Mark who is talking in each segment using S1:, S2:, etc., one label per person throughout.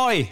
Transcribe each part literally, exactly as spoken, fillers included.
S1: Oi.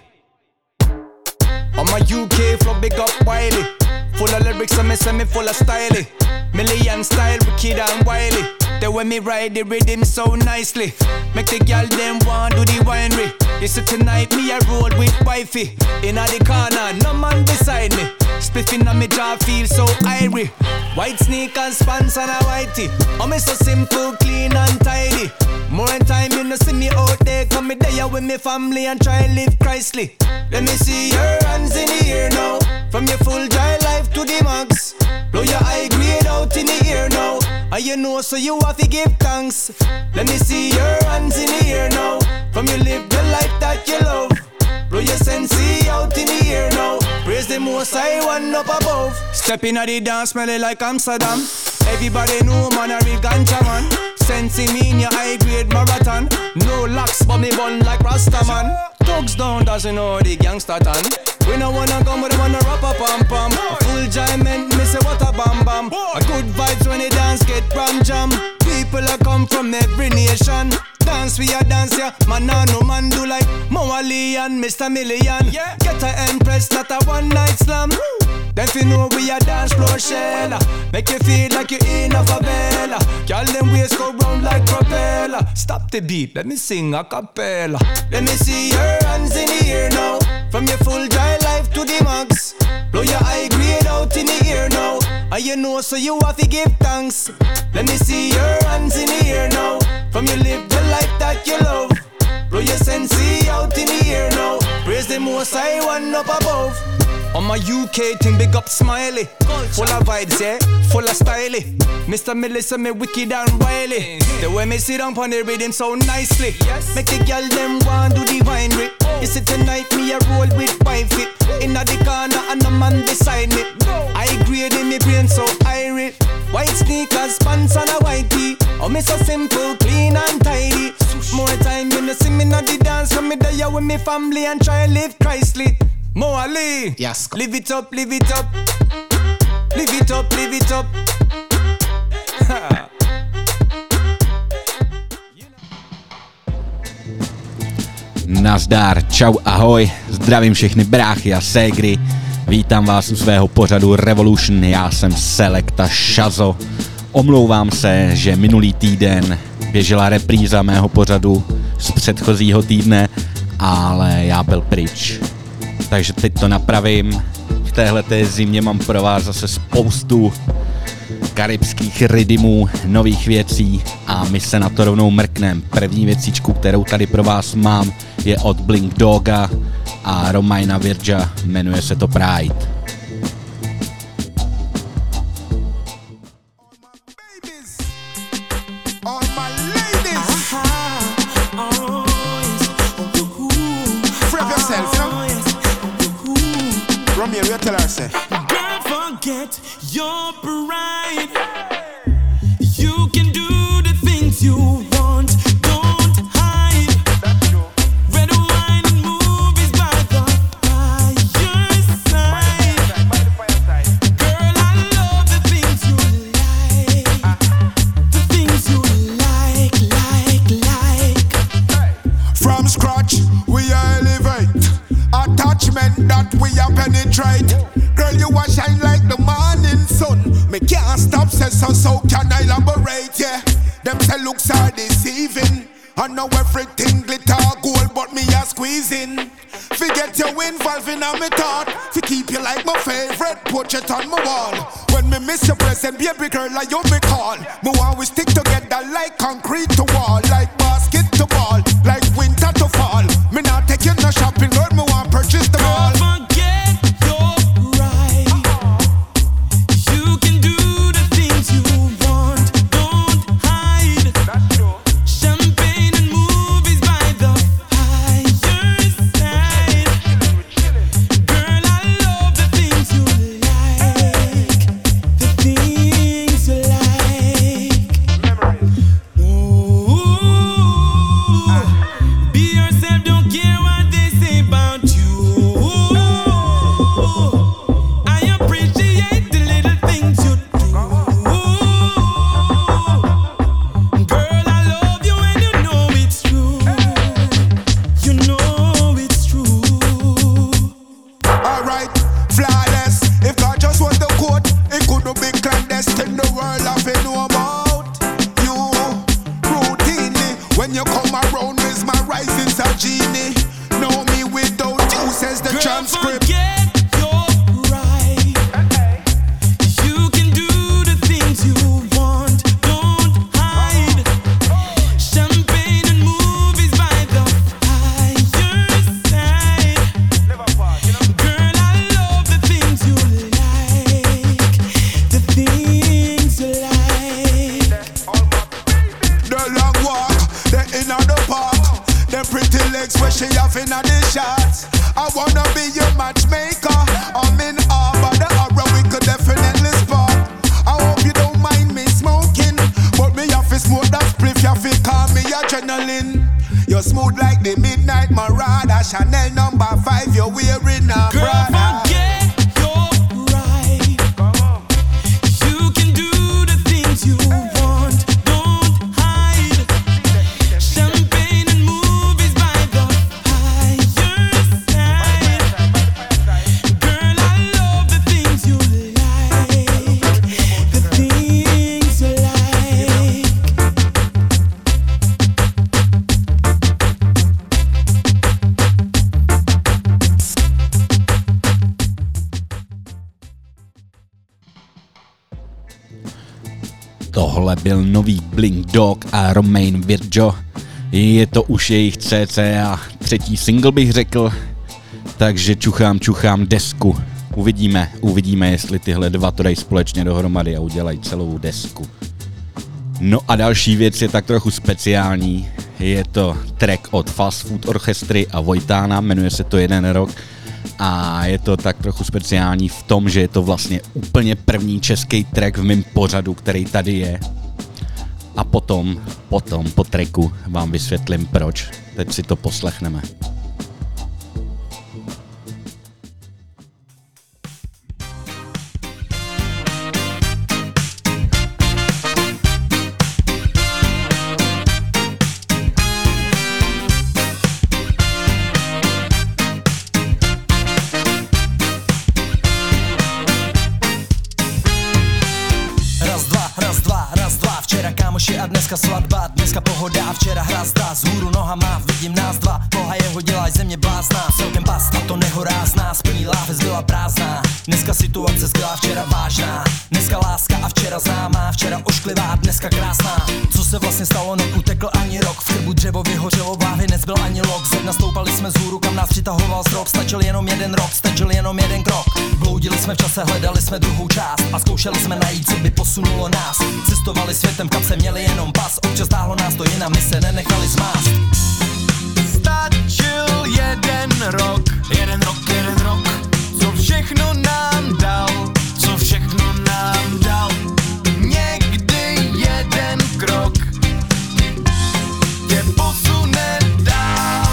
S1: On my U K flow, big up Wiley. Full of lyrics and me say me full of style. Million style, wicked and wily. The way me ride the rhythm so nicely. Make the girl them want do the winery. You see tonight me a roll with wifey. Inna the corner, no man beside me. Spliffing on me jaw feel so irie. White sneakers, pants and a whitey. Oh me so simple, clean and tidy. More in time you no see me out there. Come me there with me family and try live Christly. Let me see your hands in the air now. From your full dry life to the max. Blow your high grade out in the air now. And you know so you have to give thanks. Let me see your hands in the air now. From you live the life that you love. Blow your sensei out in the air now. Praise the most high one up above. Step in at the dance smelling like Amsterdam. Everybody know man a real ganja man. Sensei mean your high grade marathon. No locks but me bun like Rasta man. Thugs down doesn't know the gangster tan. We no wanna come but we wanna rap a pam pam. A full giant me say what a bam bam. A good vibes when the dance get ram jam. People a come from every nation. Dance we a dance ya, man nah no man do like Moali and Mister Million. Yeah. Get a empress, not a one night slam. Then fi know we a dance floor shell. Make you feel like you in a favela. Girl them waist go round like propeller. Stop the beat, let me sing a cappella. Let me see your hands in the air now. From your full dry life to the max. Blow your high grade out in the air now. And you know so you have to give thanks. Let me see your hands in the air now. From you live the life that you love. Blow your sensei out in the air now. Praise the most high one up above. On my U K thing, big up Smiley. Full of vibes, yeah, full of style. Mister Melissa, me wicked and wily. The way me sit down on the rhythm so nicely. Make the girl them want do the winery. You see tonight me a roll with wifey. Inna the corner and a man beside me. I grade in me brain so irie. White sneakers, pants and a white tee. Oh me so simple, clean and tidy. More time you no see me na the dance. From me there with me family and try live Christly. Mo Ali, yes. Live it up, live it up. Live it up, live it up.
S2: Nazdar, čau, ahoj, zdravím všechny bráchy a ségry. Vítám vás u svého pořadu Revolution, já jsem Selecta Shazo. Omlouvám se, že minulý týden běžela repríza mého pořadu z předchozího týdne, ale já byl pryč. Takže teď to napravím. V téhleté zimě mám pro vás zase spoustu karibských rydymů, nových věcí a my se na to rovnou mrknem. První věcičku, kterou tady pro vás mám, je od Blink Doga a Romina Virga, jmenuje se to Pride.
S3: Tell her, say,
S4: don't forget your pride. You can do the things you want. Don't hide. Red wine and movies by the fireside. Girl, I love the things you like. The things you like, like, like.
S3: From scratch, we elevate. Attachment that we are penetrate. Girl, you a shine like the morning sun. Me can't stop, say so, so can I elaborate, yeah. Them say looks are deceiving. I know everything glitter gold, but me a squeezing. Forget you involving on me thought. Fi keep you like my favorite portrait on my wall. When me miss your present, baby girl, like you me call. Me want we stick together like concrete to wall. Like basket to ball, like winter to fall. Me not take you no shopping, girl, me want purchase them all.
S4: Don't forget your pride. You can do the things you want. Don't hide. Champagne and movies by the fireside. Girl, I love the things you like. The things you like. Ooh, things you like.
S3: The long walk, the inner the park, the pretty legs where she have in the shots. I wanna be your matchmaker. I'm in awe, but the aura we could definitely spark. I hope you don't mind me smoking, but me have to smoke that spliff, you have to call me adrenaline. You're smooth like the midnight Marauder, Chanel number five, you're wearing a
S4: Girl,
S3: Prada.
S4: forget your pride. You can do the things you want, don't hide. Champagne and movies by the higher side. Girl, I love the things you like, the things you like.
S2: Tohle byl nový Blink Dog a Romain Virgo. Je to už jejich cca třetí single, bych řekl. Takže čuchám, čuchám desku. Uvidíme, uvidíme, jestli tyhle dva to dají společně dohromady a udělají celou desku. No a další věc je tak trochu speciální. Je to track od Fast Food Orchestry a Vojtána, jmenuje se to Jeden rok. A je to tak trochu speciální v tom, že je to vlastně úplně první český track v mém pořadu, který tady je. A potom, potom po tracku vám vysvětlím proč. Teď si to poslechneme.
S5: A dneska svatba, dneska pohoda, včera hrazda, zhůru nohama, vidím nás dva, boha jeho dělaj země blázná, celkem past a to nehorázná, splní láhev byla prázdná, dneska situace skvělá, včera vážná, dneska láska a včera známá, včera ošklivá, dneska krásná, co se vlastně stalo, neutekl ani rok, v krbu dřevo vyhořelo, v láhvi nezbyl ani lok, ze dna stoupali jsme zhůru, kam nás přitahoval zrok, stačil jenom jeden rok, stačil jenom jeden krok, bloudili jsme v čase, hledali jsme druhou část a zkoušeli jsme najít, co by posunulo nás, cestovali světem, kam se měli jenom pas, občas táhlo nás to jinam, my se nenechali zmást.
S4: Stačil jeden rok, jeden rok, jeden rok, co všechno nám dal, co všechno nám dal. Někdy jeden krok tě posune dál.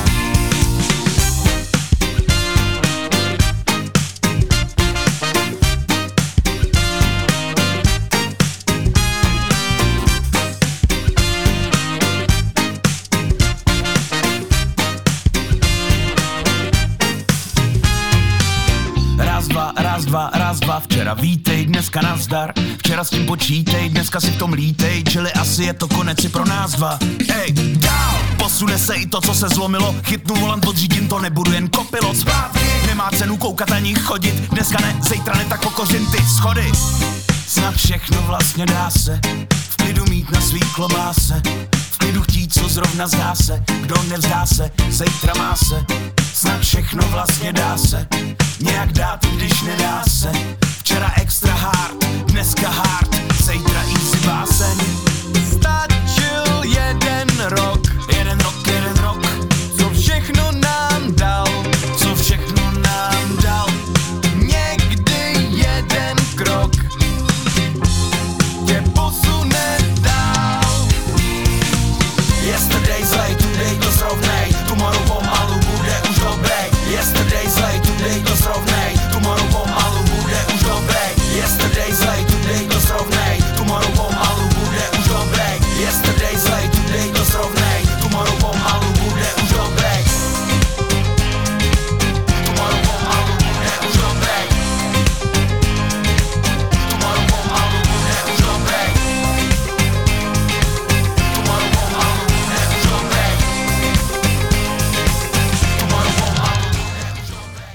S4: Raz, dva, raz, dva, včera vítej, dneska nazdar. Včera s tím počítej, dneska si v tom lítej, čili asi je to konec i pro nás dva. Ej, dál, posune se i to, co se zlomilo, chytnu volant, podřídím to, nebudu jen kopilot zpátky. Nemá cenu koukat ani chodit, dneska ne, zítra ne, tak pokořím ty schody. Snad všechno vlastně dá se, v klidu mít na svý klobáse, v klidu chtít, co zrovna zdá se, kdo nevzdá se, zítra má se. Snad všechno vlastně dá se, nějak dát, když nedá se. Včera extra hard, dneska hard, zítra easy báseň. Stačil jeden rok, jeden rok, jeden rok, co všechno nám dal, co všechno nám dal. Někdy jeden krok tě posune dál. Yesterday zlej, today to srovnej, tomorrow pomalu bude už dobrý. Yesterday zlej, today to srovnej, tomorrow pomalu bude už dobrý. Yesterday zlej, today to srovnej, tomorrow pomalu bude už dobrý. Yesterday zlej, today to srovnej, tomorrow pomalu bude už dobrý. Tomorrow pomalu bude už dobrý. Tomorrow pomalu bude už dobrý. Tomorrow pomalu bude už dobrý. Tomorrow pomalu bude už dobrý.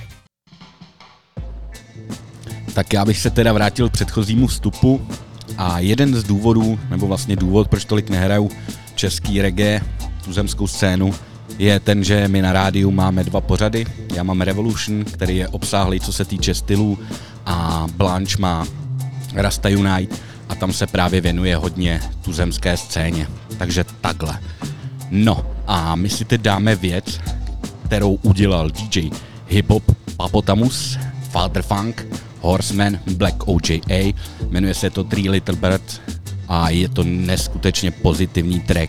S2: Tak já bych se teda vrátil k předchozímu vstupu a jeden z důvodů, nebo vlastně důvod, proč tolik nehraju český reggae, tuzemskou scénu, je ten, že my na rádiu máme dva pořady. Já mám Revolution, který je obsáhlý, co se týče stylů, a Blanche má Rasta Unite a tam se právě věnuje hodně tuzemské scéně. Takže takhle. No a my si teď dáme věc, kterou udělal D J Hip-Hop Papotamus, Father Funk, Horseman, Black O J A, jmenuje se to Three Little Birds a je to neskutečně pozitivní track.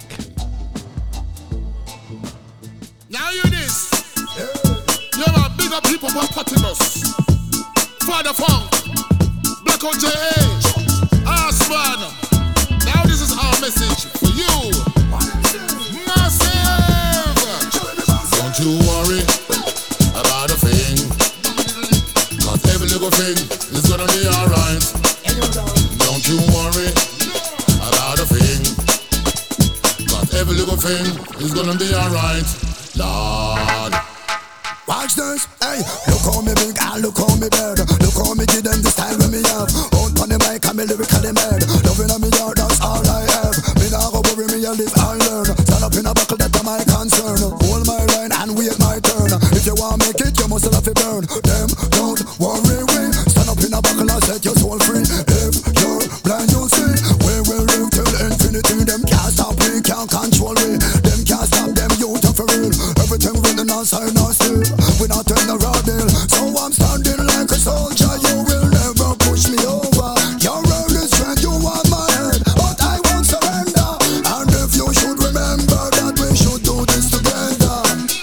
S3: Now you this. You're a big up people Papotamus, Father Funk, Black O J A, Horseman. Now this is our message for you. Massive. Don't you worry about a thing, cause every little thing is gonna be alright. Don't you worry about a thing, cause every little thing is gonna be alright. Lord, watch this, hey, look how me big and look how me bad. Look how me give them the style when me have. Out on the mic and me lyrically mad. Loving on me yard, that's all I have. Me nah go worry, me a live and learn. Stand up in a buckle, that's my concern. Hold my line and wait my turn. If you want make it, you must have to burn. Them don't worry, we stand up in a buckle and set your soul free. If you're blind, you see, we will live till infinity. Them can't stop me, can't control me. Them can't stop them, you tough for real. Everything written outside, not still. We not turn the road deal. So I'm standing like a soldier. You will never push me over. Your world is strength, you want my head, but I won't surrender. And if you should remember that we should do this together,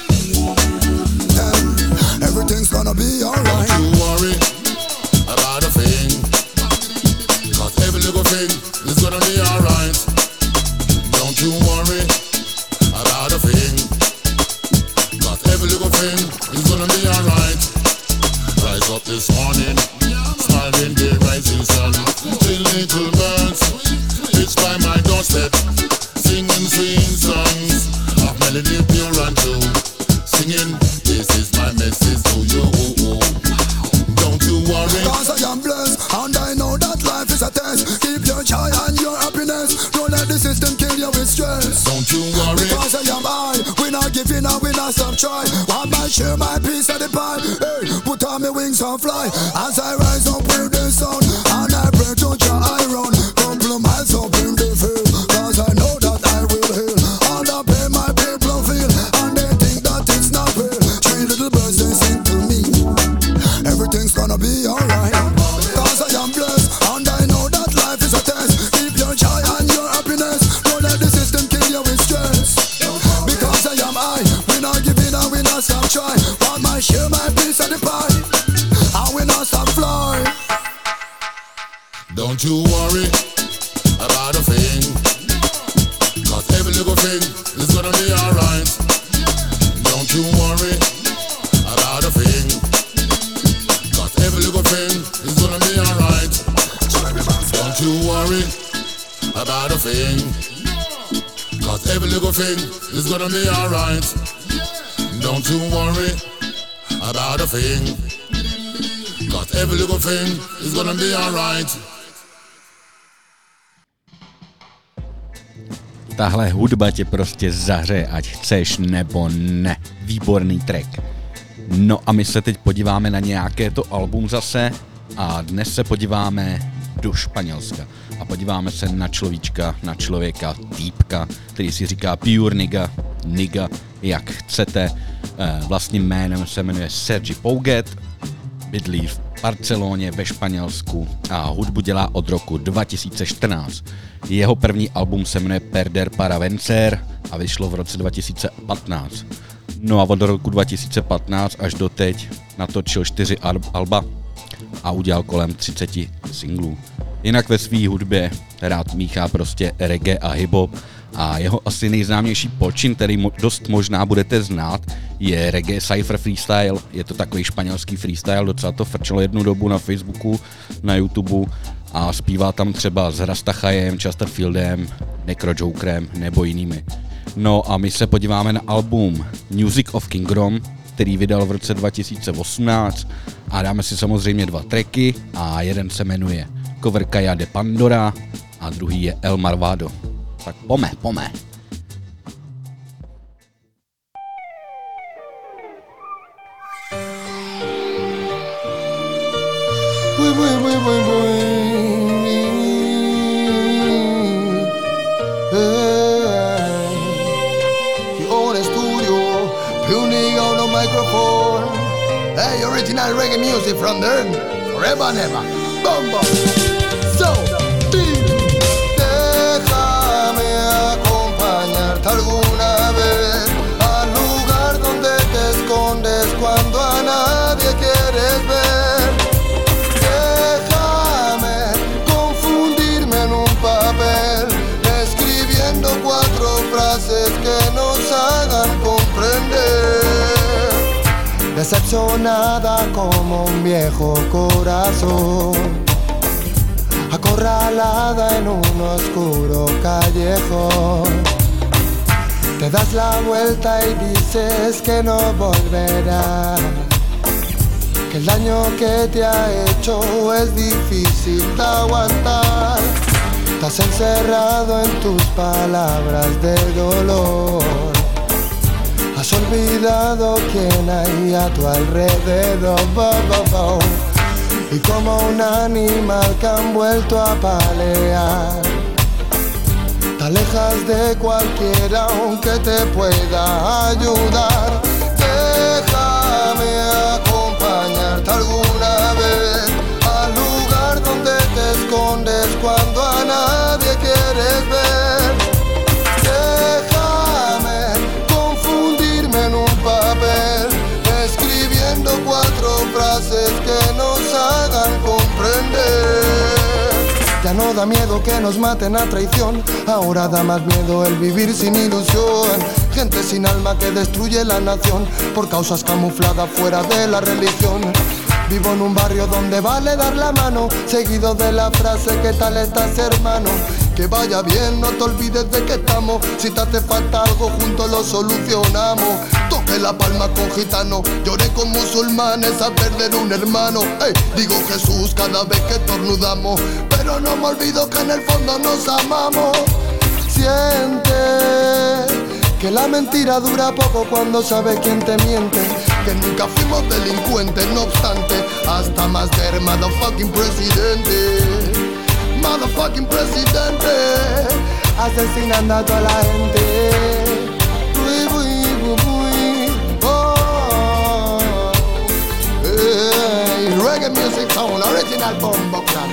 S3: then everything's gonna be alright. Don't you worry about a thing, cause every little thing is gonna be alright. Don't you worry about a thing, cause every little thing is gonna be alright. Rise up this morning, smiling the rising sun. Three little birds, it's by my doorstep, singing sweet songs of melody pure and true. Singing, this is my message to you. Don't you worry, cause I am blessed, and I know that life is a test. Keep your joy and your happiness, don't let the system kill you with stress. Don't you worry, because I am I, we not giving up, we not stop trying. Want my share, my piece of the pie. Hey, put on my wings and fly, as I rise up with the sun, and I pray to Jah I run. Couple miles up in the field, cause I know that I will heal all the pain my people feel, and they think that it's not real. Three little birds, they sing to me, everything's gonna be alright. Cause I am blessed, and I know that life is a test. Keep your joy and your happiness, don't let the system kill you with stress. Because I am I, we not giving up, we not stop trying. Want my share, my piece of the pie, and we not stop fly. Don't you worry about a thing, cause every little thing is gonna be alright. Don't you worry about a thing, cause every little thing is gonna be alright. Don't you worry about a thing, cause every little thing is gonna be alright. Don't you worry about a thing, cause every little thing is gonna be alright.
S2: Tahle hudba tě prostě zahřeje, ať chceš nebo ne. Výborný track. No a my se teď podíváme na nějaké to album zase a dnes se podíváme do Španělska a podíváme se na človíčka, na člověka, týpka, který si říká Pure Nigga, Nigga, jak chcete. Vlastním jménem se jmenuje Sergi Pouget, bydlí v Barceloně ve Španělsku a hudbu dělá od roku dva tisíce čtrnáct. Jeho první album se jmenuje Perder para Vencer a vyšlo v roce dva tisíce patnáct. No a od roku dva tisíce patnáct až do teď natočil čtyři alba a udělal kolem třicet singlů. Jinak ve své hudbě rád míchá prostě reggae a hip-hop a jeho asi nejznámější počin, který mo- dost možná budete znát, je reggae cypher freestyle. Je to takový španělský freestyle, docela to frčelo jednu dobu na Facebooku, na YouTube a zpívá tam třeba s Rastachajem, Chesterfieldem, Necrojokerem nebo jinými. No a my se podíváme na album Music of Kingdom, který vydal v roce dva tisíce osmnáct a dáme si samozřejmě dva tracky a jeden se jmenuje Cover Kaya de Pandora a druhý je El Marvado. Tak pome, pome.
S6: Boy, boy, boy, boy, boy. microphone. Hey, original reggae music from the earth, forever and ever. Boom, boom. So, beat. Déjame acompañarte alguna vez al lugar donde te escondes cuando a nadie quieres ver. Déjame confundirme en un papel, escribiendo cuatro frases que nos hagan comprender. Decepcionada como un viejo corazón, acorralada en un oscuro callejón. Te das la vuelta y dices que no volverás, que el daño que te ha hecho es difícil de aguantar. Estás encerrado en tus palabras de dolor, has olvidado quién hay a tu alrededor. Y como un animal que han vuelto a palear, te alejas de cualquiera aunque te pueda ayudar. Déjame acompañarte alguna vez al lugar donde te escondes cuando a nadie quieres ver. Déjame confundirme en un papel, escribiendo cuatro frases que nos hagan comprender. Ya no da miedo que nos maten a traición, ahora da más miedo el vivir sin ilusión. Gente sin alma que destruye la nación por causas camufladas fuera de la religión. Vivo en un barrio donde vale dar la mano, seguido de la frase ¿qué tal estás, hermano? Que vaya bien, no te olvides de que estamos. Si te hace falta algo, juntos lo solucionamos. Toqué la palma con gitano, lloré con musulmanes a perder un hermano. Hey, digo Jesús cada vez que estornudamos, pero no me olvido que en el fondo nos amamos. Siente que la mentira dura poco cuando sabes quién te miente, que nunca fuimos delincuentes, no obstante, hasta más ver motherfucking presidente. Motherfucking presidente, asesinando a toda la gente. Uy, uy, uy, uy. Oh, hey, reggae music sound, original bombo clap.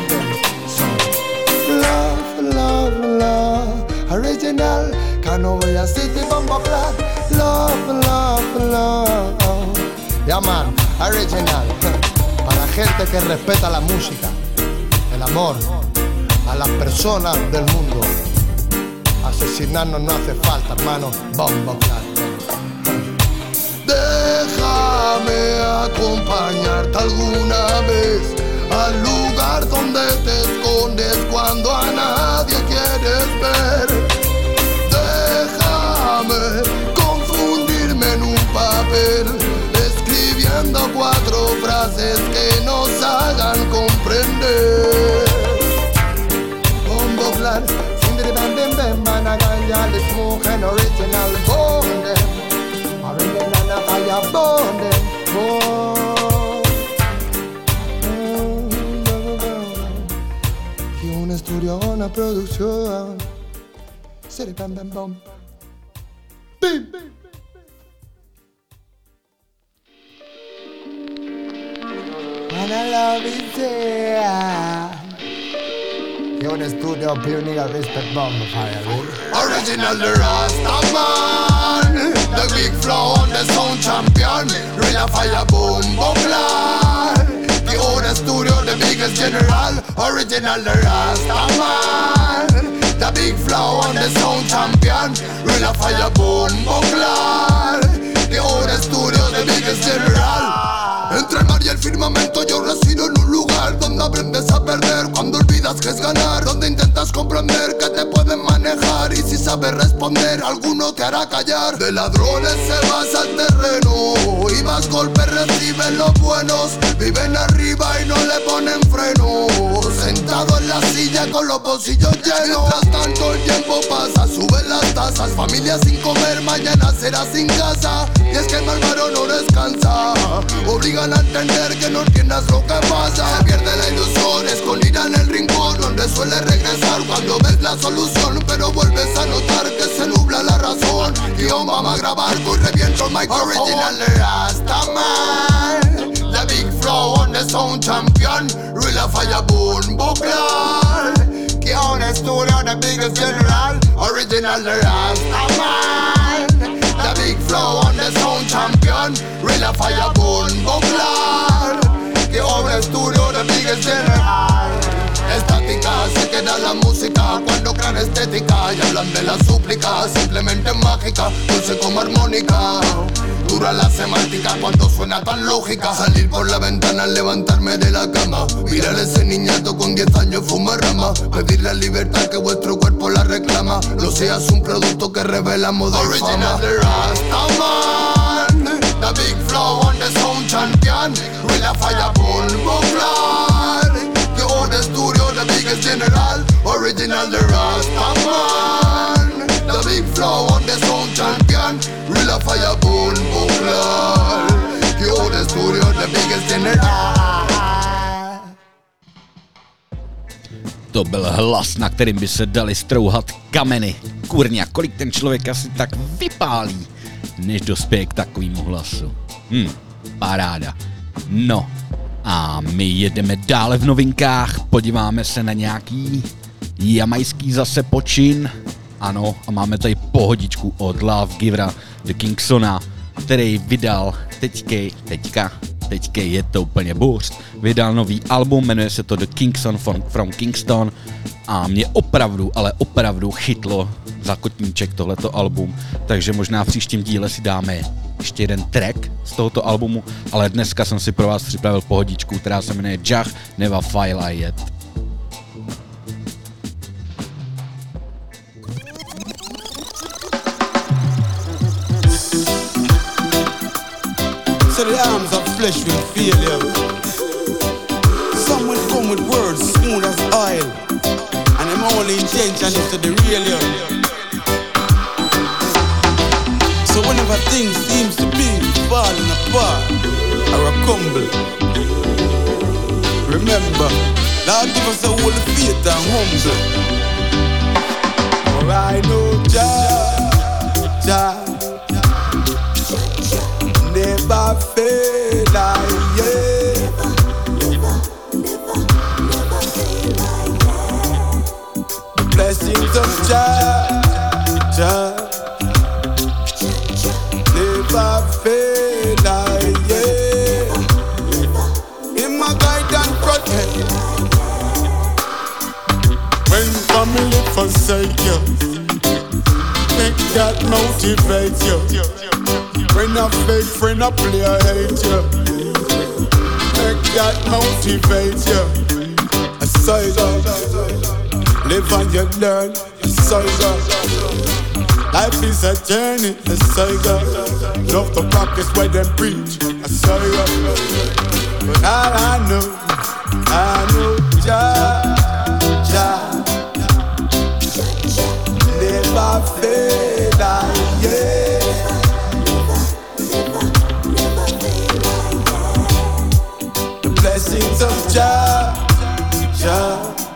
S6: Love, love, love, original. Canovia City bombo clap. Love, love, love. Yeah man, original. Para gente que respeta la música, el amor, a las personas del mundo. Asesinarnos no hace falta, hermano. Bombo clap. Déjame acompañarte alguna vez al lugar donde te escondes cuando a nadie quieres ver. Déjame confundirme en un papel, escribiendo cuatro frases que nos hagan comprender. Bombo clap, sindri bam bam bam, managanya le smoke and original bonde, original na fire bonde, oh. Y un estudio, una producción, sindri bam bam bam, bim. And I love it, yeah. You're in the studio, pioneer, respect, bomb, fire, original, the Rasta man, the big flow on the sound champion, real fire, boom, boom, glad. The old studio, the biggest general, original, the Rasta man, the big flow on the sound champion, real fire, boom, boom, glad. The old studio, the biggest general. Entre el mar y el firmamento yo resido en un lugar donde aprendes a perder cuando olvidas que es ganar, donde intentas comprender que te pueden manejar y si sabes responder alguno te hará callar. De ladrones se basa el terreno y más golpes reciben los buenos, viven arriba y no le ponen freno, sentado en la silla con los bolsillos llenos. Mientras tanto el tiempo pasa, suben las tasas, familia sin comer, mañana será sin casa. Y es que el malvado no descansa, obligan a entender que no entiendas lo que pasa. Se pierde la ilusión, es escondida en el rincón donde suele regresar cuando ves la solución, pero vuelves a notar que se nubla la razón. Guión, vamos a grabar, y reviento el micrófono. Original Rastaman, the big flow on the sound champion, real fire bone buckler. Guión estudio, the biggest general, original Rastaman, the big flow on the sound champion, real fire bone buckler. Guión estudio, the biggest general. Estática, se queda la música cuando crean estética y hablan de la súplica, simplemente mágica, dulce como armónica. Dura la semántica cuando suena tan lógica. Salir por la ventana, levantarme de la cama, mirar a ese niñato con diez años fumar rama, pedir la libertad que vuestro cuerpo la reclama. No seas un producto que revela moda y fama. Original Rastaman, the big flow on the sound champion, real fire bone buckler. The studio, the biggest general, original the Rastaman, the big flow on the sound champion, real fire bone buckler. You the studio, the biggest general.
S2: To byl hlas, na kterým by se dali strouhat kameny. Kurňa, kolik ten člověk asi tak vypálí, než dospěje k takovému hlasu. Hm, paráda. No. A my jedeme dále v novinkách, podíváme se na nějaký jamajský zase počin. Ano, a máme tady pohodičku od Love Givera The Kingsona, který vydal teďkej, teďka, teďkej je to úplně burst, vydal nový album, jmenuje se to The Kingson from, from Kingston a mě opravdu, ale opravdu chytlo za kotníček tohleto album, takže možná v příštím díle si dáme ještě jeden track z tohoto albumu, ale dneska jsem si pro vás připravil pohodičku, která se jmenuje Jah Never Fly Yet.
S7: So the arms of flesh will fail you. Some will come with words smooth as oil, and them only intention is to derail you. So whenever things seems to be falling apart or a crumble, remember, Lord give us a whole faith and humble. For I know Jah, Jah never fail, yeah. The blessings of Jah, Jah never fail, yeah. In my guide and protect. When family forsake you, make that motivate you. When a fake friend a play I hate you, make that motivate you. A side up, live and you learn. A side up, life is a journey. A side up, love the practice where them preach. A side up, but all I know, I know Jah, Jah never fail, yeah. Blessings of Jah, Jah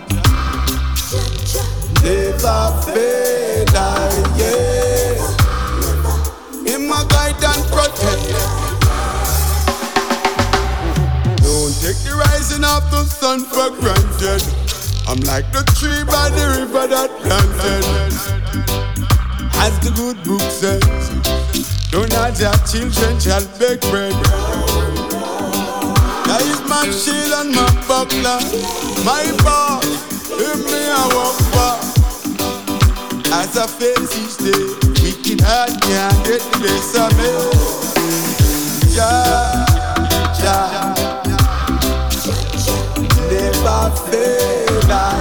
S7: never fail, yeah. In my guide and protect. Don't take the rising of the sun for granted. I'm like the tree by the river that planted. As the good book says, don't have your children shall beg bread. That is my shield and my buckler, my boss, in me I walk far. As I face each day, wicked heart can't get the best of me. Jah, Jah never fail, yeah.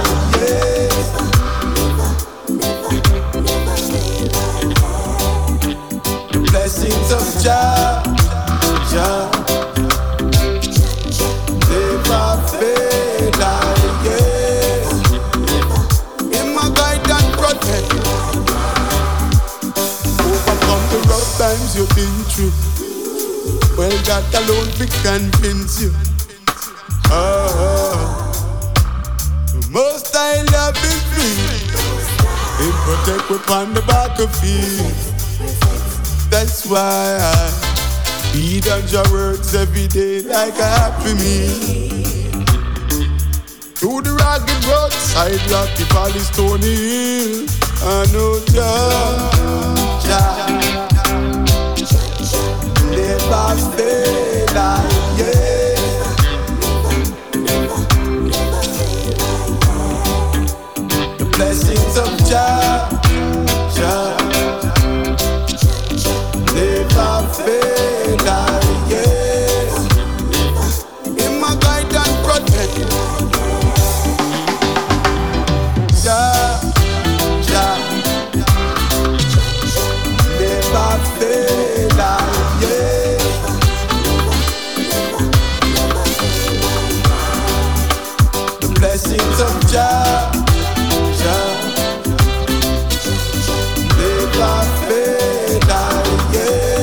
S7: The blessings of Jah, Jah never fail, yeah. In my guide and protect. Overcome the rough times you've been through. Well, God alone will convince you. Oh, protect we on the battlefield. That's why I read on your words every day like a happy meal. Through the rugged roadside, rocky valley, stony hill, I know Jah, Jah, never fail, yeah. The blessings of Jah, Jah, never fail, yeah. In my guide and protect. Jah, Jah, never fail, yeah. The blessings of Jah, Jah, never fail, yeah.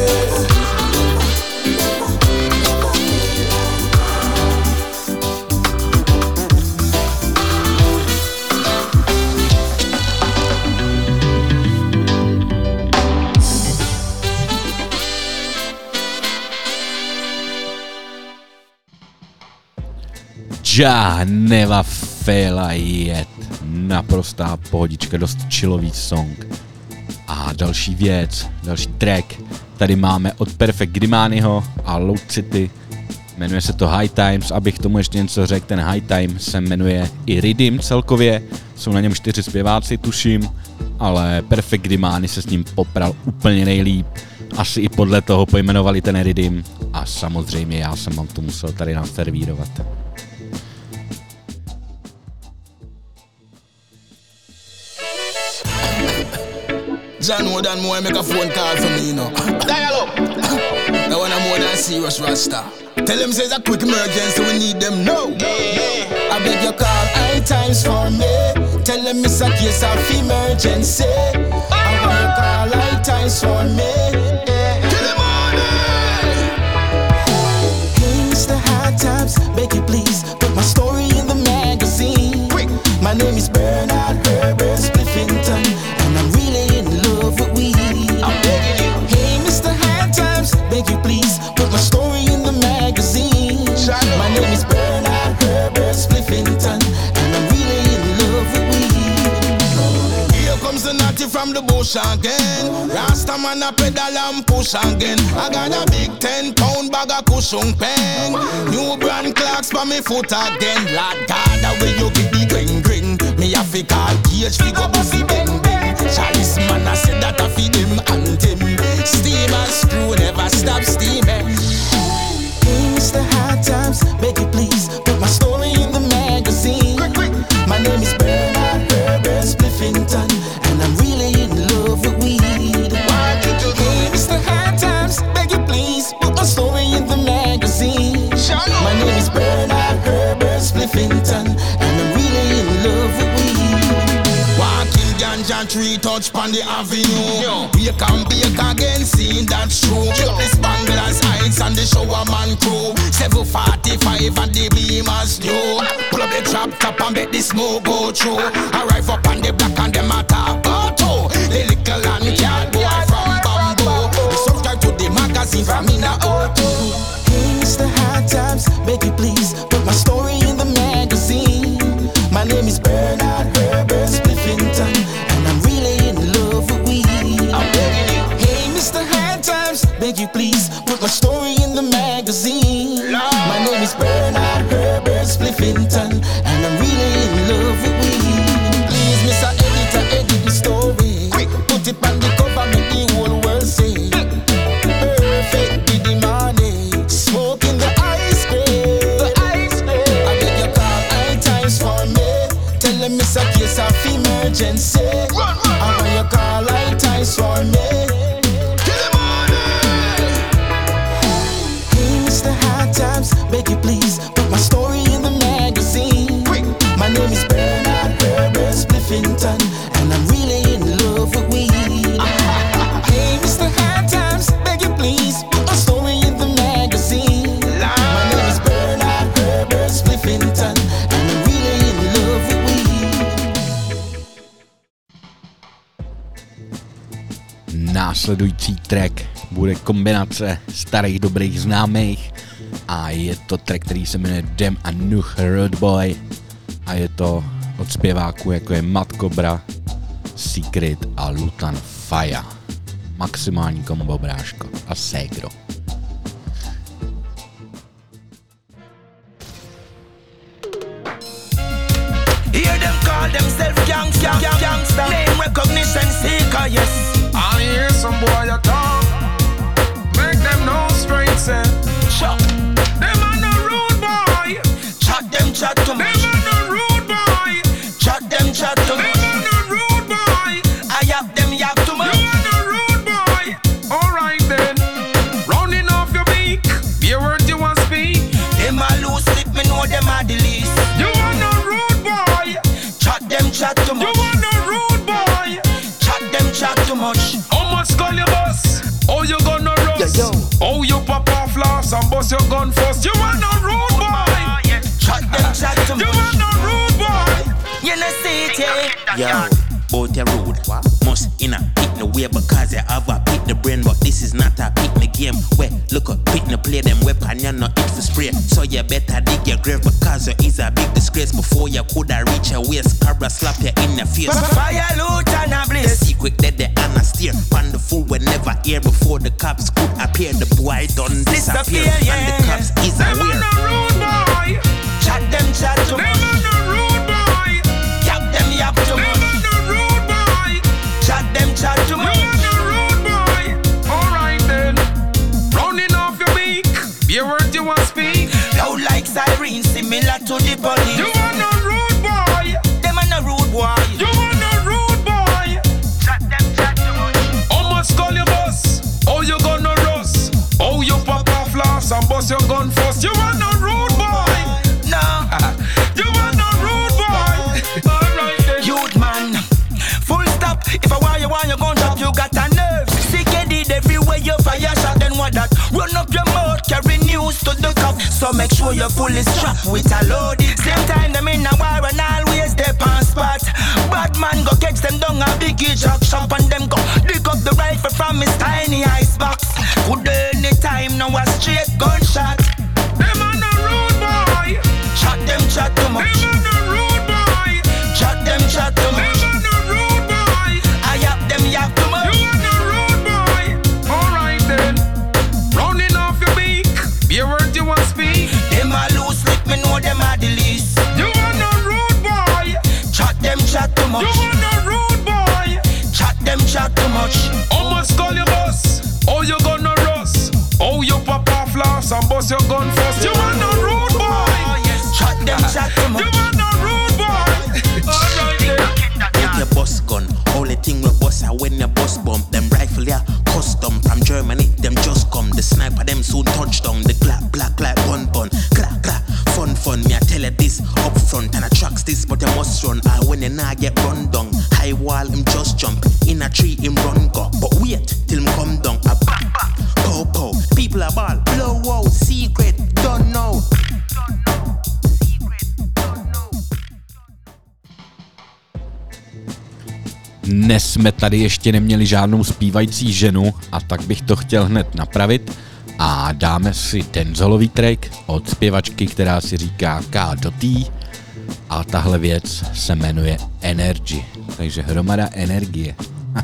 S2: Jah never fail, yet. Naprostá pohodička, dost chillový song. A další věc, další track, tady máme od Perfect Grimányho a Loud City. Jmenuje se to High Times, abych tomu ještě něco řekl, ten High Time se jmenuje i Riddim celkově. Jsou na něm čtyři zpěváci, tuším, ale Perfect Grimany se s ním popral úplně nejlíp. Asi i podle toho pojmenovali ten Riddim a samozřejmě já jsem vám to musel tady naservírovat.
S8: John more than more make a phone call for me, you know. Dial up. That one I'm more than serious Rasta. Tell them say it's a quick emergency, we need them now. I beg you call high times for me. Tell them it's a case of emergency. I want you call high times for me. Kill them all day. Hey, Mister High Times, beg you please put my story in the magazine. Quick. My name is Bernard Herbert Spliffington, and I'm really in love with weed. I'm begging you. Hey, Mister High Times, beg you please put my story in the magazine. Shadow. My name is Bernard Herbert Spliffington, and I'm really in love with weed. Here comes the natty from the bush again. Rasta man a pedal and push again. I got a big ten pound bag of cushion pen. New brand clocks for me foot again. Lord God, the way you give me green green. Me a fi call Gage fi go busy bang bang. Chalice man a said that a fi him and him. Steam and screw never stop steaming. Hey, Mister High Times, beg you please put my story in the magazine. Quick, quick. My name is Bernard Herbert Spliffington, and I'm really in love with weed. Hey, Mister High Times, beg you please put my story in the magazine. My name is Bernard Herbert Spliffington, and I'm really in love with weed. Walking ganja tree touch pon the avenue. We can bake again, seeing that's true. The Spanglers Heights and the Shower Man crew. seven forty-five and the Beamers new. Pull up the trap top and make the smoke go through. Arrive up on the block and them attack auto. The little and cat boy from Bamboo. Subscribe to the magazine from Mina Auto. Hey, Mister High Times, beg you please put my story in the magazine. My name is Bernard Herbert Spliffington, and I'm really in love with weed. I'm begging you. Hey, Mister High Times, beg you please put my story in the magazine. Lord. My name is Bernard Herbert Spliffington, and I'm really in love with weed. Please, Mister Editor, edit the story. Quick, put it on the cover, make the whole world say. Perfect with the money, smoking the ice cream. The ice cream. I beg you call high times for me. Tell them it's a case of emergency. Run, run, I want you call high times for me. Kill them all day. Hey, Mister High Times, beg you please put my story in the magazine. Quick. My name is Bernard Herbert Spliffington, and I'm really in love with weed. Hey, Mister High Times, beg you please put my story in the magazine. My name is Bernard Herbert Spliffington, and I'm really in love with weed.
S2: Následující track bude kombinace starých dobrých známých a je to track, který se jmenuje Dem a Nuh Road Boy a je to od zpěváků jako je Mad Cobra, Secret a Lutan Faya. Maximální kombo, bráško a ségro.
S9: Hear them call themselves gangsta, gangsta, name recognition seeker, yes.
S10: I hear some boy a talk, make them know straight say,
S9: Chuck,
S10: them a no rude boy,
S9: chat them chat to me.
S10: them a no rude boy,
S9: Chat them chat to me.
S10: them a no rude boy,
S9: I yap them yap to me.
S10: you a no rude boy. Alright then, rounding off your beak, be a word you want speak.
S9: Them a loose slip, me know them a the least.
S10: You a no rude boy,
S9: Chat them chat to me.
S10: you a no rude boy.
S9: Chat them chat too much.
S10: How much call your boss? Oh, you gonna rust?
S9: Yo, yo.
S10: Oh, you pop off last and bust your gun first. You a no rude boy.
S9: Chat them chat too
S10: You
S9: much.
S10: a no rude boy.
S9: You know see it, yeah.
S11: Yo, both your road. Must in a pick the way because you have a pick the brain, but this is not a pick the game. Where look up, pick the play them weapon, you're not it for spray. So you better dig your grave because you is a big disgrace. Before you coulda reach your waist, Cabra slap you in the face.
S9: Fire loot and a
S11: The
S9: blaze.
S11: secret that the Anna steer. Pan the fool will never hear before the cops could appear. The boy done disappear,
S9: Disappear, yeah.
S11: and the cops is
S10: Them a
S11: aware.
S10: no rude boy.
S9: Chat them chat too
S10: Them
S9: much.
S10: a no rude boy.
S9: Yap them yap too
S10: Them
S9: much.
S10: a no rude boy.
S9: Chat them chat too
S10: You
S9: much.
S10: a no rude boy. Alright then, rounding off your beak, be a word you want speak.
S9: Loud like siren, similar to the police.
S10: You a no rude boy.
S9: Them a no rude boy.
S10: You a no rude boy.
S9: Chat them chat too much.
S10: How much call your boss? Oh, you gonna rust? Oh, you pop off last and bust your gun first. You a no rude boy.
S9: No,
S10: You a no rude boy. Alright then.
S9: youth man. Full stop. If I want you, want you gun drop, you got a nerve. Sick headed everywhere you fire shot. Then what that? Run up your mouth, carry news to the cop. So make sure you're fully strapped with a load. Same time them in a war and always they on spot. Bad man go catch them down a biggie jack shop and them go dig up the rifle from his tiny icebox. Could anytime now a straight gunshot.
S10: Them a no rude boy.
S9: Chat them chat too
S10: Them
S9: much.
S10: a no rude boy.
S9: Chat them chat too
S10: Them
S9: much.
S10: a no rude boy.
S9: I yap them yap too much.
S10: You a no rude boy. Alright then, rounding off your beak, be a word you want speak.
S9: Them a loose slip, me know them a the least.
S10: You a no rude boy.
S9: Chat them chat too
S10: You
S9: much.
S10: a no rude boy.
S9: Chat them chat too much.
S10: How much call your boss? Oh, you gonna rust? Oh, you pop off last and bust your gun first. You a no rude boy.
S9: Chat them chat too
S10: You
S9: much.
S10: a no rude boy. Alright then.
S11: With your boss gun, only thing we boss are when your boss bump. Them rifle yeah, custom from Germany, them just come. The sniper them soon touchdown. The clap black like one bun. Clap clap, fun fun. Me I tell you this up front and I tracks this, but you must run. I when you nah get run down. High wall him just jump, in a tree him run go. But wait till him come down. A back back, pow pow. People are ball, blow out, secret, don't know.
S2: Dnes jsme tady ještě neměli žádnou zpívající ženu a tak bych to chtěl hned napravit a dáme si dancehallový track od zpěvačky, která si říká K do T a tahle věc se jmenuje Energy, takže hromada energie.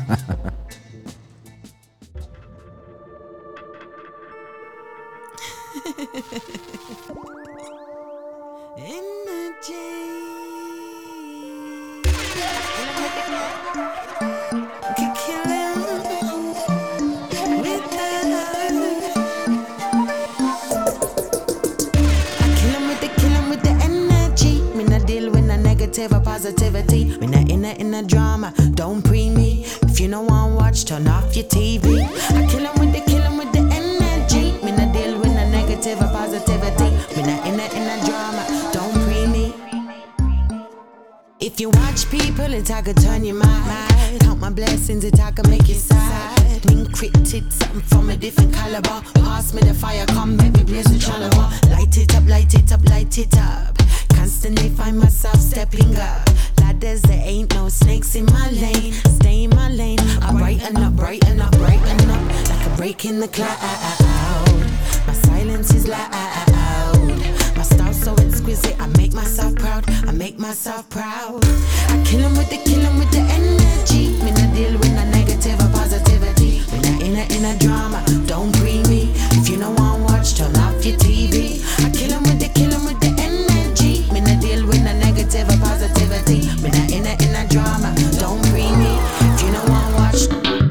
S12: Or positivity, when I in a in a drama, don't pre me. If you don't want to watch, turn off your T V. I kill 'em with the kill 'em with the energy. Me not deal with a negative or positivity. When I in a in a drama, don't pre me. If you watch people, it I could turn your mind. Count my blessings, it I could make you sad. Encrypted something from a different caliber. Pass me the fire, come baby, blaze the challah. Light it up, light it up, light it up. Constantly find myself stepping up. Lad ladders, there ain't no snakes in my lane. Stay in my lane, I brighten up, brighten up, brighten up, like a break in the cloud. My silence is loud. My style so exquisite, I make myself proud. I make myself proud. I kill 'em with the, kill 'em with the energy. Me not deal with no negative or positivity. Me not in a, in a drama, don't pre me. If you don't want watch, turn off your T V. I kill 'em with the, kill 'em with the energy. Me not deal with no negative or positivity. Me not in a, in a drama, don't pre me. If you don't want watch,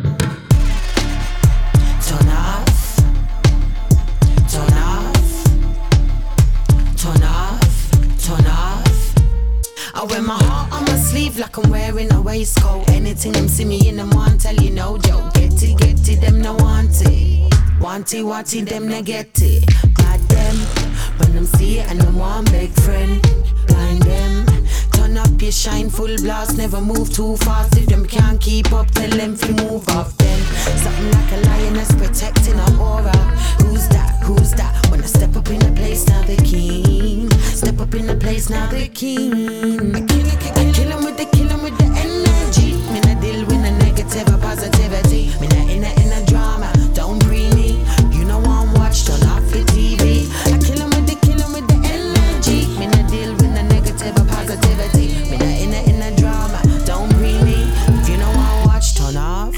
S12: turn off, turn off, turn off, turn off. I wear my heart on my sleeve like I'm wearing a waistcoat. Anything them see me in them want tell you no joke. Get it, get it, them no want it. Want it, want it, them no get it. Glad them when them see it and them want big friend. Blind them, turn up your shine full blast. Never move too fast. If them can't keep up, tell them to move off them. Something like a lioness protecting her aura. Who's that? Who's that? When I step up in the place, now the king. Step up in the place, now the king. I kill it, I kill 'em with the, kill 'em with the energy. Me not deal with the negative or positivity. Me not in a, in a drama, don't bring me. You know I'm watch, turn off your T V. I kill 'em with the, kill 'em with the energy. Me not deal with the negative or positivity. Me not in a, in a drama, don't bring me. If you know I'm watch, turn off.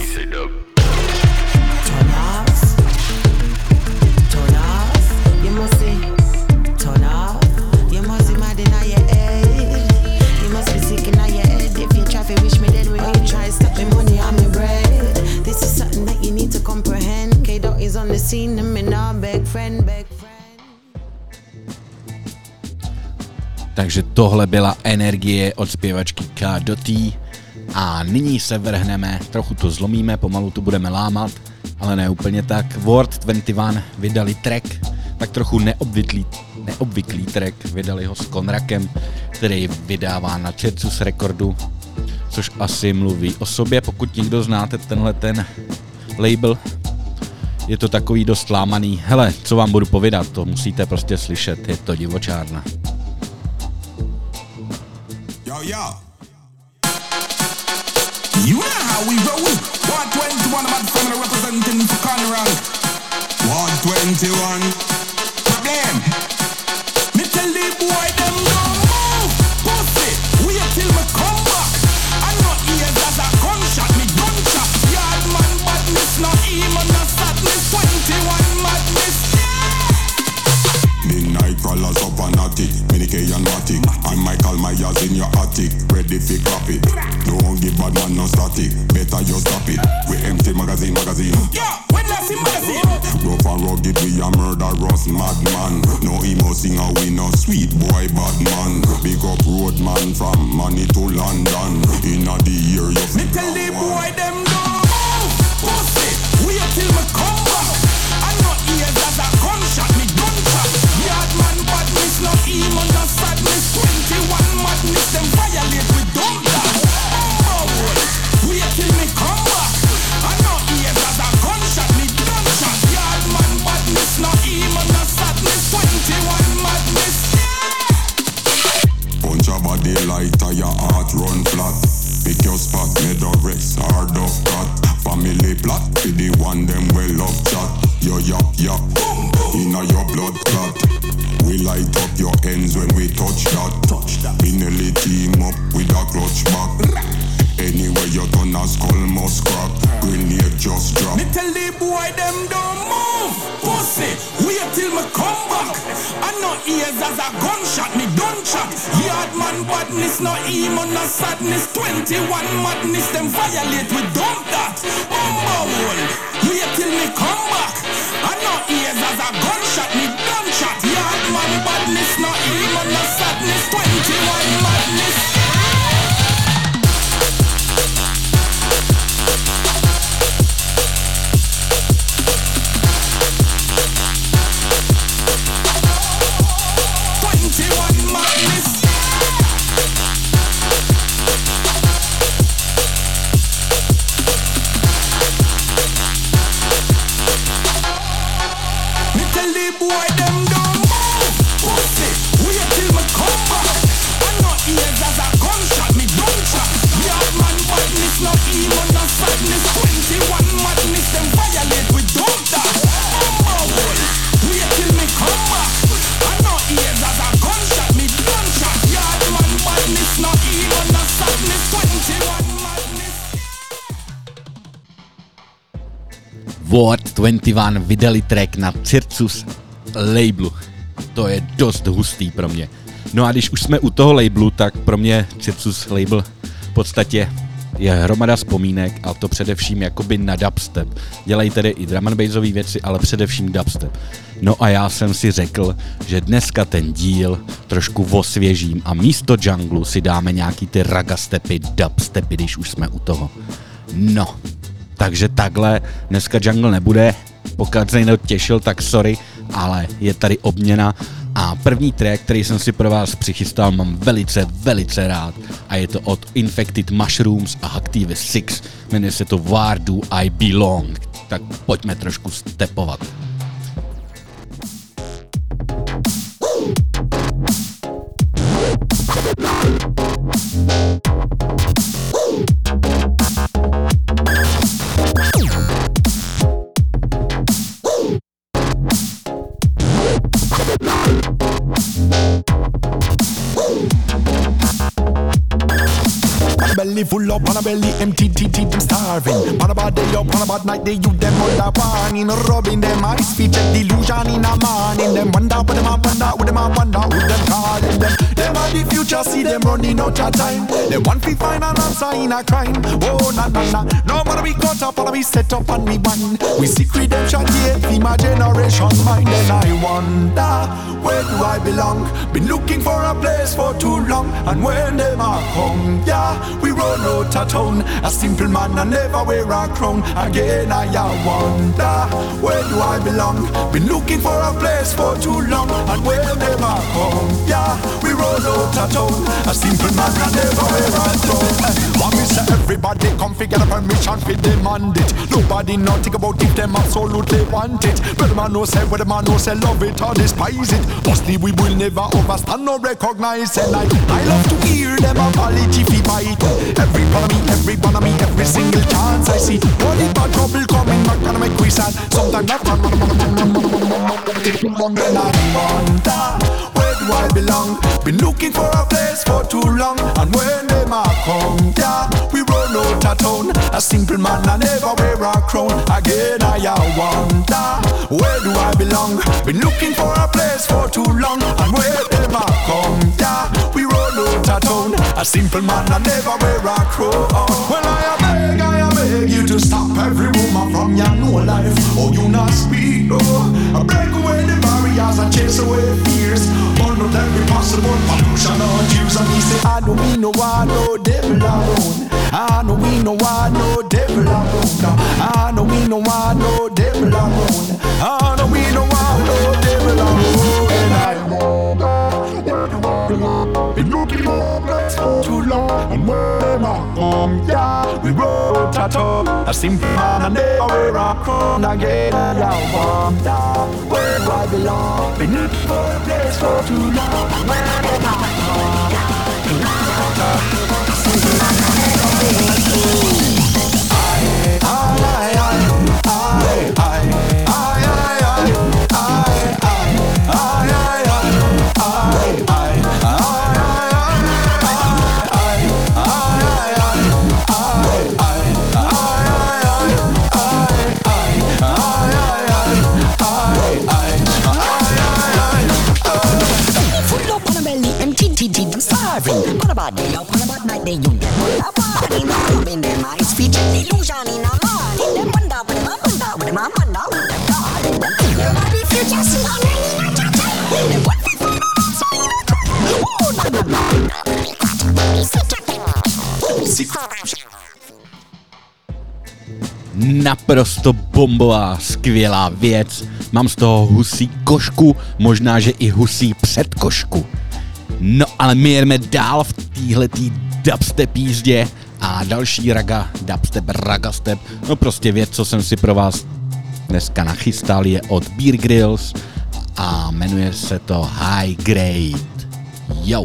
S12: Turn off. Turn off. You must see. Turn off. You must be mad in your head. You must be sick in your head. If you try to wish me dead when you try to stop me money on me bread. This is something that you need to comprehend. K-Dot is on the scene and me now beg friend, beg friend.
S2: Takže tohle byla energie od zpěvačky K-Dotty. A nyní se vrhneme, trochu to zlomíme, pomalu to budeme lámat, ale ne úplně tak. World dvacet jedna vydali track, tak trochu neobvyklý, neobvyklý track, vydali ho s Konrakem, který vydává na Čercus Recordu, což asi mluví o sobě, pokud někdo znáte tenhle ten label. Je to takový dost lámaný. Hele, co vám budu povídat, to musíte prostě slyšet, je to divočárna.
S3: Yo, yo. You know how we roll. one twenty-one, I'm at family representing for Conrad. one twenty-one. Problem. Me tell the boy them don't move. Pussy, wait till me come back. I know ears as a gunshot, me gunshot. Yard man badness, not even no sadness. twenty-one madness. Midnight crawlers up and attic, Minike and Matic. I might call my ass in your attic, ready for crap it. Don't give bad man no static, better you stop it. We empty magazine, magazine. Yeah, when I see magazine. Rough and rugged, we a murderous madman. No emo singer, we no sweet boy bad man. Big up road man from Money to London. Inna the year you me tell the boy them don't move. Pussy, wait till me come back. I know ears as a gunshot, me gunshot. Yard man badness, no emo, no sadness. twenty-one madness, them violate with dumb that. Oh, wait till me come back. I know ears as a gunshot, me gunshot. Yard man badness, no emo, no sadness. twenty-one madness. Punch a body light, your heart run flat. Pick your spot, made of Rex, hard of cut. Family plot, be the one them well love chat. Yo yap yap, inna your blood clot. We light up your ends when we touch that. Touch that. We nearly team up with a clutch back. Anyway you turn a skull must crack. Grenade just drop. Me tell the boy them don't move. Pussy, wait till me come back. I know ears as a gunshot, me done shot. Yard man badness, no emo, no sadness. twenty-one madness, them violate with dump that. Bumble, wait till me come back. I know ears as a gunshot, me done shot. Yard man badness, no emo, no sadness. twenty-one madness. twenty-one madness. Me tell the boy them don't move. Pussy, wait till me come back. I know ears as a
S2: Ward dvacet jedna vydali track na Circus labelu. To je dost hustý pro mě. No a když už jsme u toho labelu, tak pro mě Circus label v podstatě je hromada vzpomínek, a to především jakoby na dubstep. Dělají tedy i drum and bassové věci, ale především dubstep. No a já jsem si řekl, že dneska ten díl trošku osvěžím a místo junglu si dáme nějaký ty raga stepy, dubstepy, když už jsme u toho. No, takže takhle, dneska jungle nebude, pokud se někdo těšil, tak sorry, ale je tady obměna. A první track, který jsem si pro vás přichystal, mám velice, velice rád. A je to od Infected Mushrooms a Active Six. Jmenuje se to Where Do I Belong. Tak pojďme trošku stepovat.
S13: Belly full up on a belly empty, T T them starving. On a bad day up, on a bad night, they you them under warning. Rubbing them eyes, feature delusion in a morning. Them wonder what them a wonder, what them a wonder, who them calling them. Them are the future, see them running out of time. They want to find an answer in a crime. Oh, na na na, no matter we cut up, or we set up and we bind. We seek redemption, yet for my generation mind. And I wonder, where do I belong? Been looking for a place for too long. And when them a come, yeah, we run out of town. A simple man and never wear a crown. Again I wonder, where do I belong? Been looking for a place for too long. And when them a come, yeah, we run out of town. A simple man and never wear a crown. Want me say everybody come figure the permission fi demand it. Nobody not think about if them absolutely want it. But the man no say, where the man no say love it or despise it. Mostly we will never understand or recognize. And I, I love to hear them apology fi bite. Every part of me, every part of me, every single chance I see. Only bad trouble coming back and make we sad. Sometimes that man, man, man, man, man, man, man, then I wonder, where do I belong? Been looking for a place for too long. And when them a come, yeah, we run out of town. A simple man I never wear a crown. Again I wonder, where do I belong? Been looking for a place for too long. And when them a come, yeah, we run out of town. A simple man I never wear a crown. Well I beg, I beg you to stop every woman from your new life. Oh you not speak, oh. I break away the barriers and chase away fears. Burn out every possible pollution or Jews. And he say I don't mean no one, no devil alone. I know we no one, no devil alone. I know we no one, no devil alone. I know we no one, no devil alone. And I know been looking for a place for too long. And when I come, yeah, we wrote a talk. A simple man and never wear a crown again. I wonder, where do I belong? Been looking for a place for too long. And when I come, yeah, we wrote a talk. A simple man and never wear a crown. I, I, I, I, I, I, I,
S14: On a bad day up, on a bad night, they you get a party. Rubbing them eyes, feature illusion in a morning. Them wonder with them, I wonder with them, I wonder with them, darling. Them body future, see how many in a cha-cha. Them what we find out, so in a trap. Oh, na na na na,
S2: naprosto bombová, skvělá věc. Mám z toho husí košku, možná, že i husí předkošku. No ale my jedeme dál v téhletý dubstep jízdě a další raga, dubstep, ragastep, no prostě věc, co jsem si pro vás dneska nachystal, je od Bear Grylls a jmenuje se to High Grade. Yo!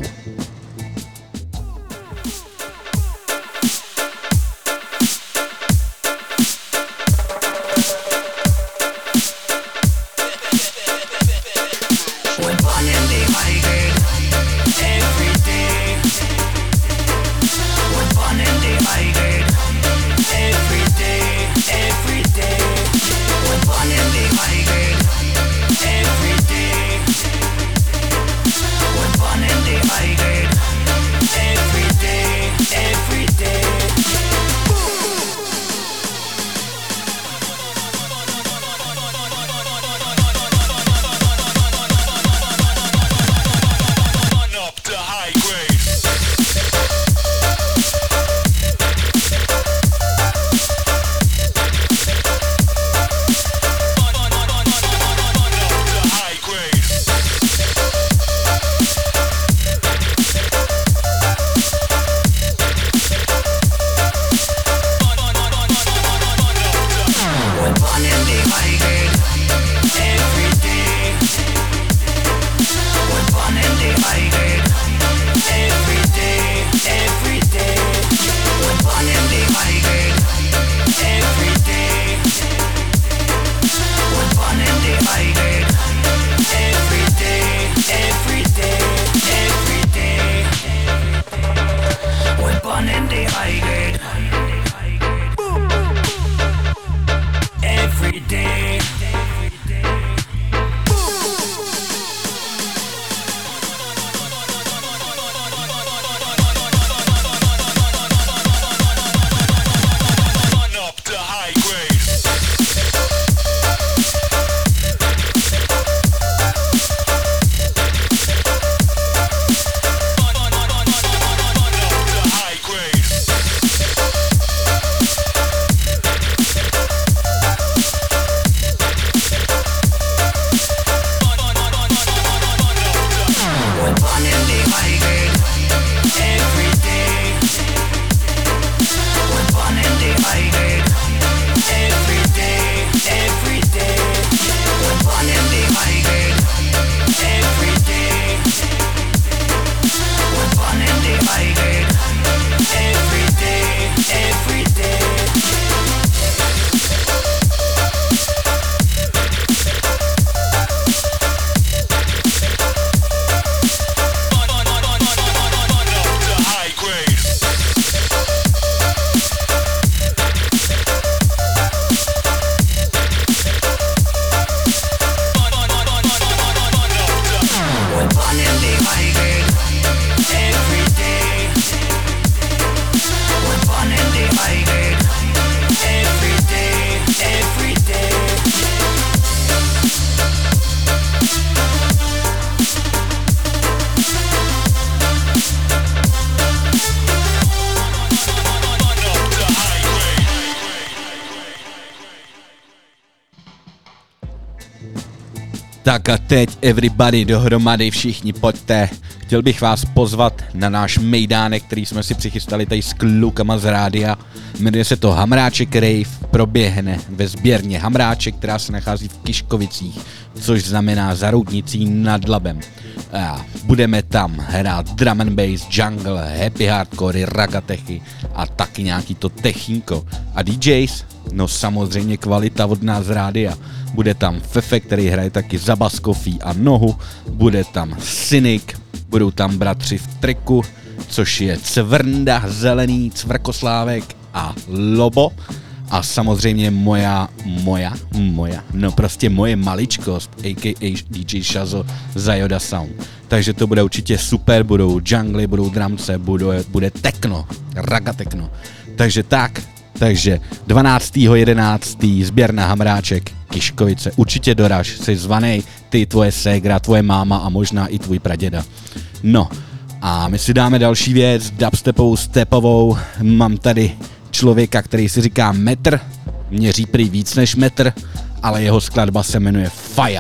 S2: Tak a teď everybody dohromady, všichni pojďte. Chtěl bych vás pozvat na náš mejdánek, který jsme si přichystali tady s klukama z rádia. Jmenuje se to Hamráček Rave, proběhne ve sběrně Hamráček, která se nachází v Kiškovicích, což znamená za Roudnicí nad Labem. A budeme tam hrát drum and bass, jungle, happy hardcore, ragatechy a taky nějaký to techínko. A D Js? No samozřejmě kvalita od nás z rádia. Bude tam Fefe, který hraje taky za Baskofí a nohu, bude tam Cynic, budou tam bratři v triku, což je Cvrnda, Zelený, Cvrkoslávek a Lobo. A samozřejmě moja, moja, moja, no prostě moje maličkost, a k a. D J Shazo za Yoda Sound. Takže to bude určitě super, budou jungly, budou drumce, bude, bude techno, raga techno. Takže tak, takže dvanáctého jedenáctého sběrna Hamráček, Kiškovice, určitě doraž, jsi zvanej, ty, tvoje ségra, tvoje máma a možná i tvůj praděda. No, a my si dáme další věc, dubstepovou, stepovou, mám tady člověka, který si říká metr, měří prý víc než metr, ale jeho skladba se jmenuje Fire.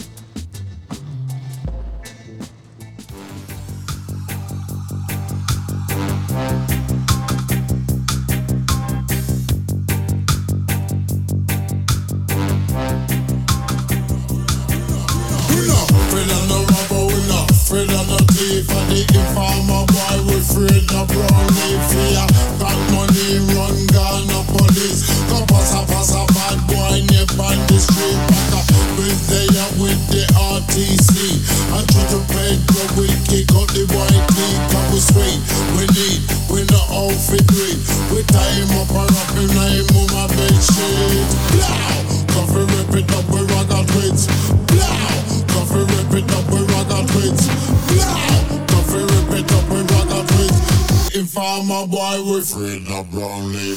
S7: Farmer boy with Fred the Brownlee.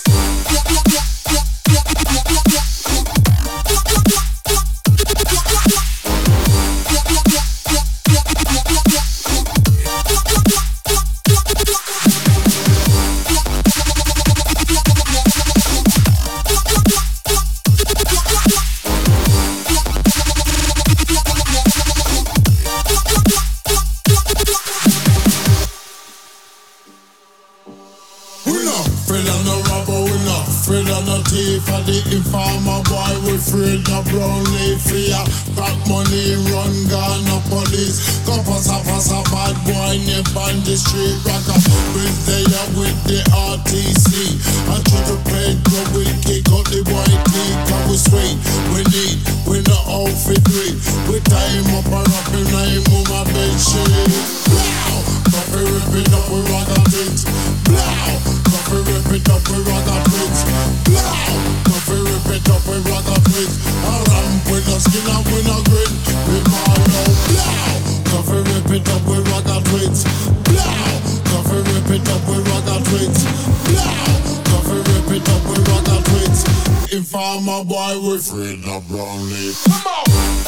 S7: Informer boy with Fred the Brownlee fear. Back money run gun no police. Go pass a pass a bad boy nip on the street rocker. With there with the R T C. I try to play good we kick out the white teeth. Cause we sweet, we need, we no outfit great. We tie him up and up in him on my bed sheet. Blow! Coffee rip it up with rocker things. Blow! Coffee rip it up with rocker things. Blow! Coffee rip it up with rocker things. A ramp with no skin and with no grit. We call out blow! Coffee rip it up with rocker things. Blow! Coffee rip it up with rocker things. Blow! Coffee rip it up with rocker things. Informer boy with Fred the Brownlee. Come on!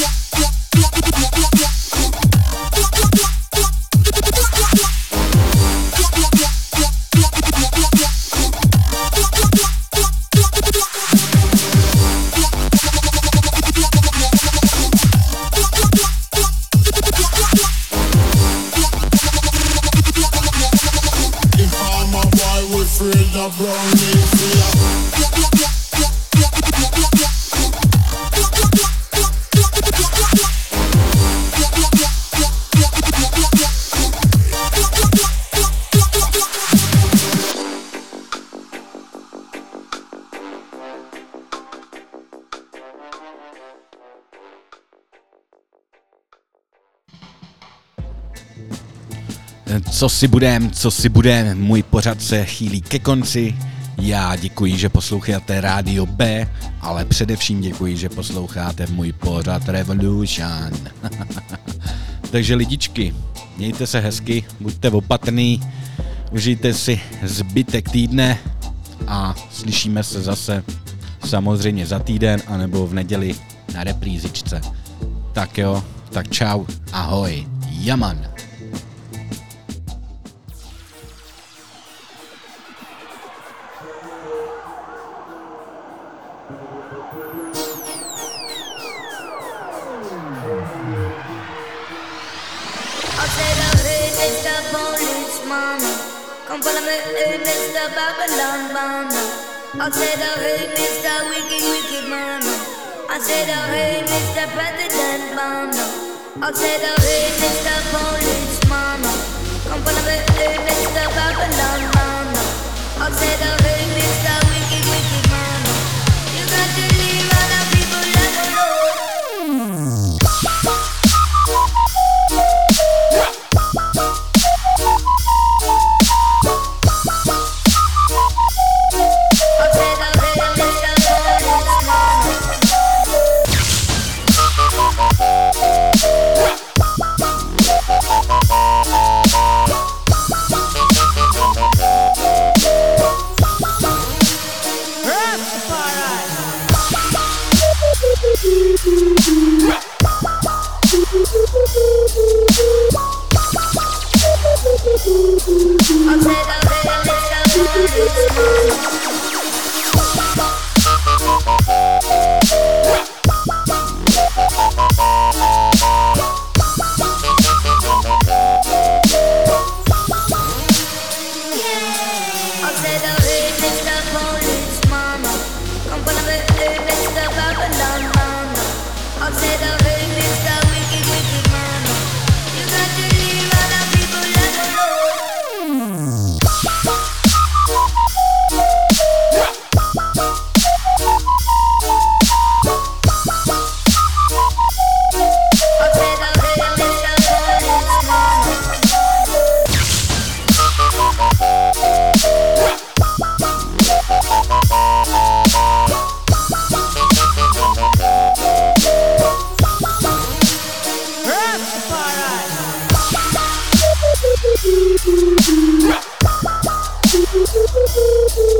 S2: Co si budem, co si budem, můj pořad se chýlí ke konci. Já děkuji, že posloucháte Rádio B, ale především děkuji, že posloucháte můj pořad Revolution. Takže lidičky, mějte se hezky, buďte opatrný, užijte si zbytek týdne a slyšíme se zase samozřejmě za týden anebo v neděli na reprízičce. Tak jo, tak čau, ahoj, jaman.
S15: Come follow me, hey, Mister Babylon Man. I said, oh, hey, Mister Wicked, Wicked Man. I said, oh, hey, Mister President Man. I said, oh, hey, Mister Policeman. Come follow me, hey, Mister Babylon Man. I said, oh, hey, Mister Wicked, Wicked Man. You got to leave other people alone.
S16: Rastafari.